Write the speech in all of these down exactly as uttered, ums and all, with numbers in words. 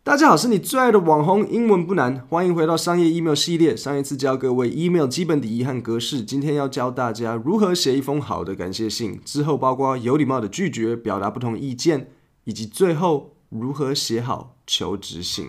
大家好，是你最愛的網紅，英文不難，歡迎回到商業 email 系列。上一次教各位 email 基本禮儀和格式，今天要教大家如何寫一封好的感謝信，之後包括有禮貌的拒絕、表達不同意見，以及最後如何寫好求職信。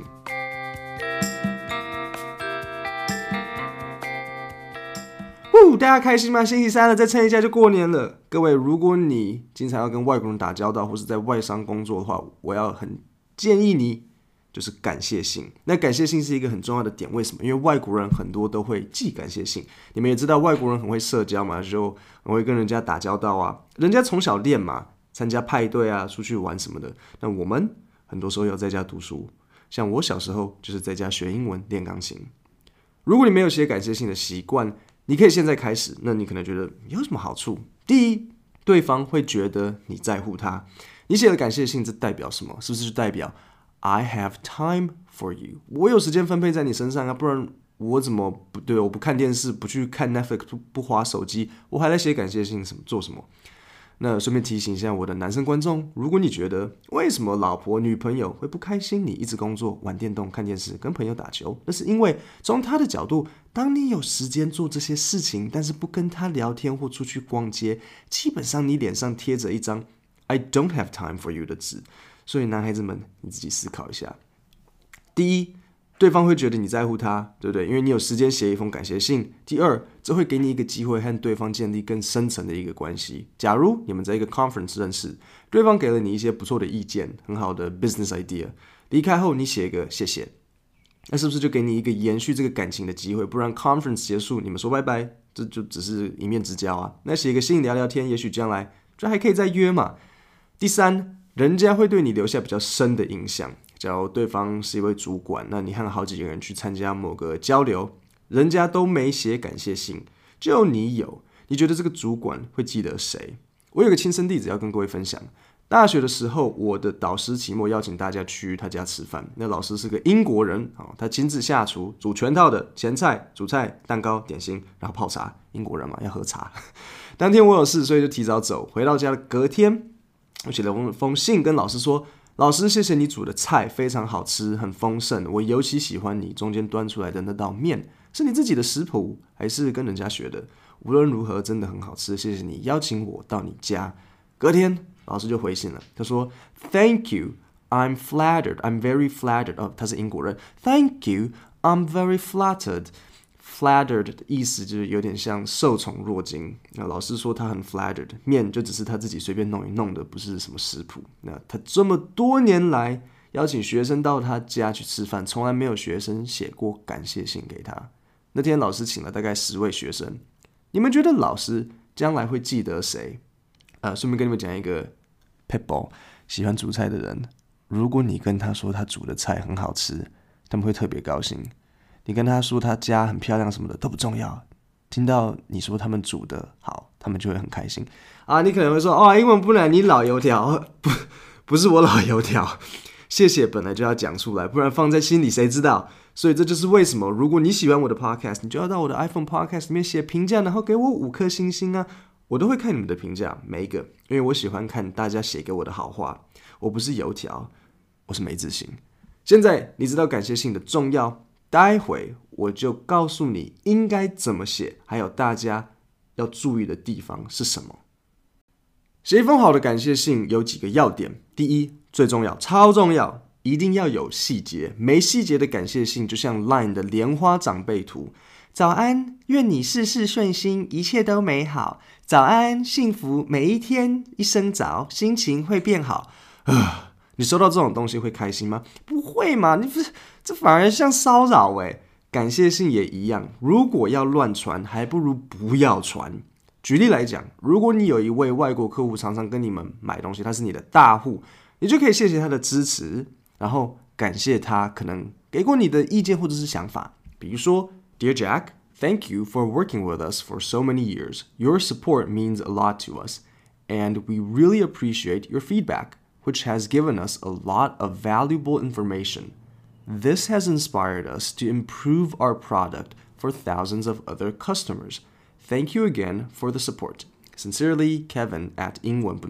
呼，大家開心嗎？星期三了，再撐一下就過年了。各位，如果你經常要跟外國人打交道，或是在外商工作的話，我要很建議你就是感謝信。那感謝信是一個很重要的點，為什麼？因為外國人很多都會寄感謝信。你們也知道，外國人很會社交嘛，就很會跟人家打交道啊。人家從小練嘛，參加派對啊，出去玩什麼的。那我們很多時候要在家讀書，像我小時候就是在家學英文、練鋼琴。如果你沒有寫感謝信的習慣，你可以現在開始。那你可能覺得有什麼好處？第一，對方會覺得你在乎他。你寫的感謝信，這代表什麼？是不是就代表I have time for you， 我有時間分配在你身上啊，不然我怎麼不對？我不看電視，不去看 Netflix， 不不滑手機，我還來寫感謝信什麼做什麼？那順便提醒一下我的男生觀眾，如果你覺得為什麼老婆女朋友會不開心，你一直工作、玩電動、看電視、跟朋友打球，那是因為從他的角度，當你有時間做這些事情，但是不跟他聊天或出去逛街，基本上你臉上貼着一張 I don't have time for you 的紙。所以男孩子們，你自己思考一下。第一，對方會覺得你在乎他，對不對？因為你有時間寫一封感謝信。第二，這會給你一個機會和對方建立更深層的一個關係。假如你們在一個 conference 認識，對方給了你一些不錯的意見，很好的 business idea， 離開後你寫一個謝謝，那是不是就給你一個延續這個感情的機會？不然 conference 結束，你們說拜拜，這就只是一面之交啊。那寫一個信聊聊天，也許將來就還可以再約嘛。第三，人家會對你留下比較深的印象。假如對方是一位主管，那你和好幾個人去參加某個交流，人家都沒寫感謝信，只有你有，你覺得這個主管會記得誰？我有個親身例子要跟各位分享。大學的時候，我的導師期末邀請大家去他家吃飯，那老師是個英國人，他親自下廚，煮全套的前菜、主菜、蛋糕、點心，然後泡茶。英國人嘛，要喝茶。當天我有事，所以就提早走。回到家的隔天，我寫了封信跟老師說，老師，謝謝你煮的菜非常好吃，很豐盛，我尤其喜歡你中間端出來的那道麵，是你自己的食譜還是跟人家學的？無論如何真的很好吃，謝謝你邀請我到你家。隔天老師就回信了，他說 Thank you, I'm flattered, I'm very flattered。 哦，他是英國人。 Thank you, I'm very flattered。Flattered 的意思就是有點像受寵若驚。那老師說他很 flattered， 麵就只是他自己隨便弄一弄的，不是什麼食譜。那他這麼多年來邀請學生到他家去吃飯，從來沒有學生寫過感謝信給他。那天老師請了大概十位學生，你們覺得老師將來會記得誰？呃，順便跟你們講一個 pitball， 喜歡煮菜的人，如果你跟他說他煮的菜很好吃，他們會特別高興。你跟他說他家很漂亮什麼的都不重要，聽到你說他們煮的好，他們就會很開心啊。你可能會說哦，英文不難，你老油條。不，不是我老油條，謝謝本來就要講出來，不然放在心裡誰知道？所以這就是為什麼，如果你喜歡我的 podcast， 你就要到我的 iPhone podcast 裡面寫評價，然後給我五顆星星啊，我都會看你們的評價，每一個，因為我喜歡看大家寫給我的好話。我不是油條，我是沒自信。現在你知道感謝信的重要，待會我就告訴你應該怎麼寫，還有大家要注意的地方是什麼。寫一封好的感謝信有幾個要點。第一，最重要，超重要，一定要有細節。沒細節的感謝信就像 Line 的蓮花長輩圖。早安，願你事事順心，一切都美好。早安，幸福，每一天一聲早，心情會變好。啊你收到這種東西會開心嗎？不會嘛，你不是，這反而像騷擾誒。感謝信也一樣，如果要亂傳，還不如不要傳。舉例來講，如果你有一位外國客戶常常跟你們買東西，他是你的大戶，你就可以謝謝他的支持，然後感謝他可能給過你的意見或者是想法。比如說 Dear Jack, thank you for working with us for so many years. Your support means a lot to us, and we really appreciate your feedback.which has given us a lot of valuable information. This has inspired us to improve our product for thousands of other customers. Thank you again for the support. Sincerely, Kevin at 英文不難。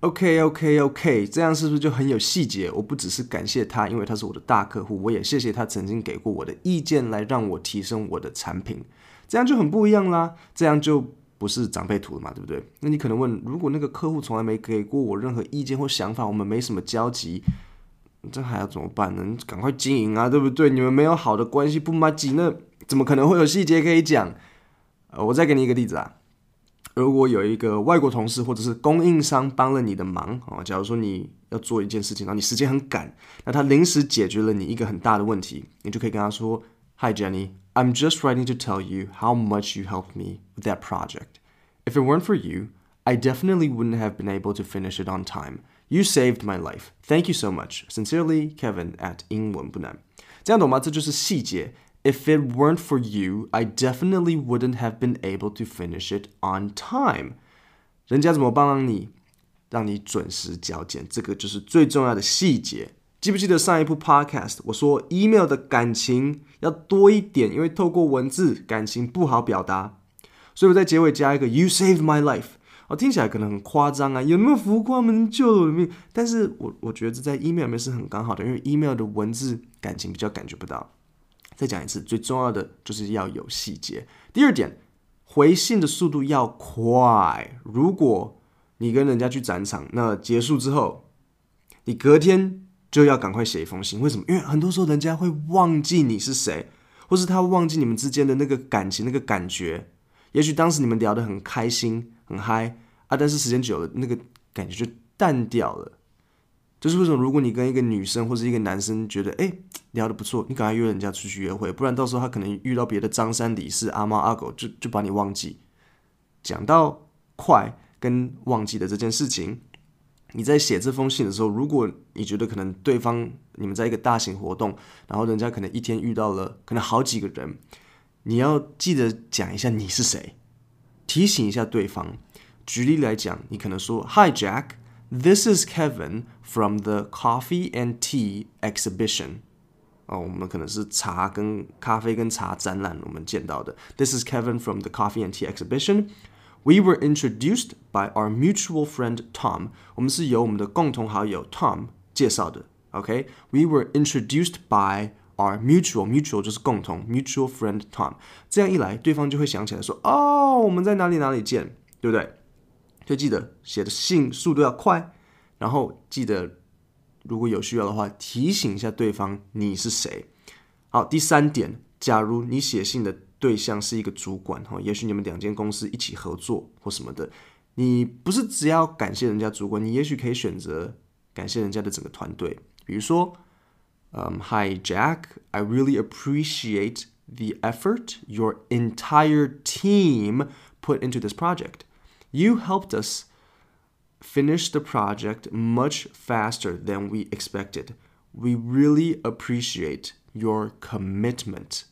OK OK OK， 這樣是不是就很有細節？我不只是感謝他，因為他是我的大客戶，我也謝謝他曾經給過我的意見，來讓我提升我的產品。這樣就很不一樣啦，這樣就不是長輩圖了嘛，對不對？那你可能問，如果那個客戶從來沒給過我任何意見或想法，我們沒什麼交集，這還要怎麼辦呢？趕快經營啊，對不對？你們沒有好的關係，不麻吉，那怎麼可能會有細節可以講？呃，我再給你一個例子啊。如果有一個外國同事或者是供應商幫了你的忙，哦，假如說你要做一件事情，然後你時間很趕，那他臨時解決了你一個很大的問題，你就可以跟他說 Hi Jenny, I'm just writing to tell you how much you helped me with that project. If it weren't for you, I definitely wouldn't have been able to finish it on time. You saved my life. Thank you so much. Sincerely, Kevin at 英文不難。這樣懂嗎？這就是細節。If it weren't for you, I definitely wouldn't have been able to finish it on time. 人家怎麼幫你，讓你準時交件，這個就是最重要的細節。記不記得上一部 podcast 我說 email 的感情要多一點，因為透過文字感情不好表達，所以我在結尾加一個 You saved my life。哦，聽起來可能很誇張啊，有那麼浮誇嗎？救了我的命。但是我我覺得這在 email 裡面是很剛好的，因為 email 的文字感情比較感覺不到。再講一次，最重要的就是要有細節。第二點，回信的速度要快。如果你跟人家去展場，那結束之後，你隔天就要趕快寫一封信。為什麼？因為很多時候人家會忘記你是誰，或是他忘記你們之間的那個感情、那個感覺。也許當時你們聊得很開心、很嗨啊，但是時間久了，那個感覺就淡掉了。就是為什麼，如果你跟一個女生或是一個男生覺得哎聊得不錯，你趕快約人家出去約會，不然到時候他可能遇到別的張三李四阿貓阿狗，就就把你忘記。講到快跟忘記的這件事情，你在寫這封信的時候，如果你覺得可能對方你們在一個大型活動，然後人家可能一天遇到了可能好幾個人，你要記得講一下你是誰，提醒一下對方。舉例來講，你可能說 Hi Jack。This is Kevin from the Coffee and Tea Exhibition. 哦，我們可能是茶跟咖啡跟茶展覽我們見到的。This is Kevin from the Coffee and Tea Exhibition. We were introduced by our mutual friend Tom. 我們是由我們的共同好友 Tom 介紹的。OK? We were introduced by our mutual mutual 就是共同 mutual friend Tom. 這樣一來，對方就會想起來說，哦，我們在哪裡哪裡見，對不對？就記得寫的信速度要快，然後記得如果有需要的話，提醒一下對方你是誰。好，第三點，假如你寫信的對象是一個主管，也許你們兩間公司一起合作或什麼的，你不是只要感謝人家主管，你也許可以選擇感謝人家的整個團隊。比如說、um, Hi Jack, I really appreciate the effort your entire team put into this project.You helped us finish the project much faster than we expected. We really appreciate your commitment.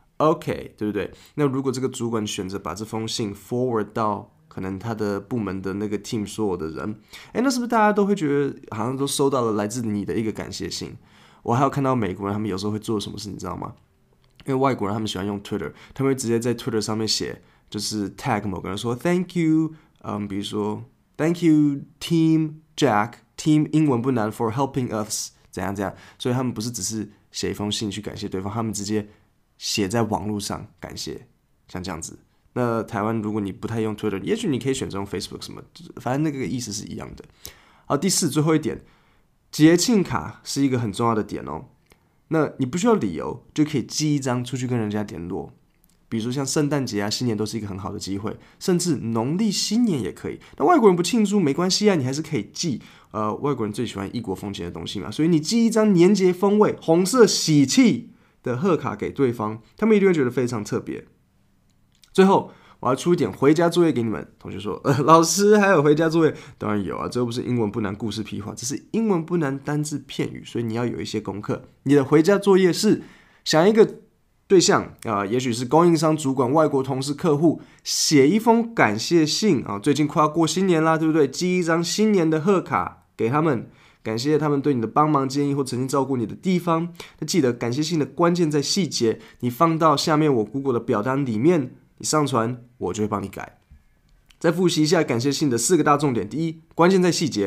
OK, 對不對？那如果這個主管選擇把這封信 forward 到可能他的部門的那個 team 所有的人，誒，那是不是大家都會覺得好像都收到了來自你的一個感謝信？我還有看到美國人他們有時候會做什麼事，你知道嗎？因為外國人他們喜歡用 Twitter， 他們會直接在 Twitter 上面寫，就是 tag 某個人說 Thank you。嗯，比如說 ，Thank you Team Jack，Team 英文不難 for helping us， 怎樣怎樣，所以他們不是只是寫一封信去感謝對方，他們直接寫在網絡上感謝，像這樣子。那台灣如果你不太用 Twitter， 也許你可以選擇用 Facebook 什麼，反正那個意思是一樣的。好，第四最後一點，節慶卡是一個很重要的點哦。那你不需要理由就可以寄一張出去跟人家聯絡。比如說像聖誕節啊、新年都是一個很好的機會，甚至農曆新年也可以。那外國人不慶祝沒關係啊，你還是可以寄。呃，外國人最喜歡異國風情的東西嘛，所以你寄一張年節風味、紅色喜氣的賀卡給對方，他們一定會覺得非常特別。最後，我要出一點回家作業給你們。同學說，呃，老師還有回家作業？當然有啊，這又不是英文不難故事屁話，這是英文不難單字片語，所以你要有一些功課。你的回家作業是想一個對象啊、呃，也許是供應商、主管、外國同事、客戶，寫一封感謝信啊、呃。最近快要過新年啦，對不對？寄一張新年的賀卡給他們，感謝他們對你的幫忙、建議或曾經照顧你的地方。那記得感謝信的關鍵在細節，你放到下面我 Google 的表單裡面，你上傳我就會幫你改。再複習一下感謝信的四個大重點：第一，關鍵在細節；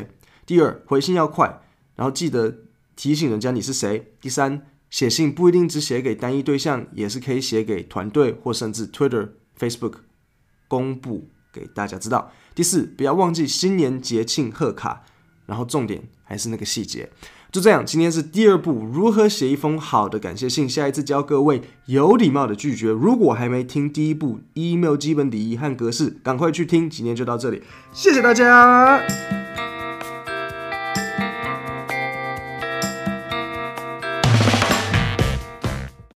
第二，回信要快，然後記得提醒人家你是誰。第三，寫信不一定只寫給單一對象，也是可以寫給團隊或甚至 Twitter、Facebook 公布給大家知道。第四，不要忘記新年節慶賀卡，然後重點還是那個細節。就這樣，今天是第二步，如何寫一封好的感謝信。下一次教各位有禮貌的拒絕。如果還沒聽第一步 email 基本禮儀和格式，趕快去聽。今天就到這裡，謝謝大家。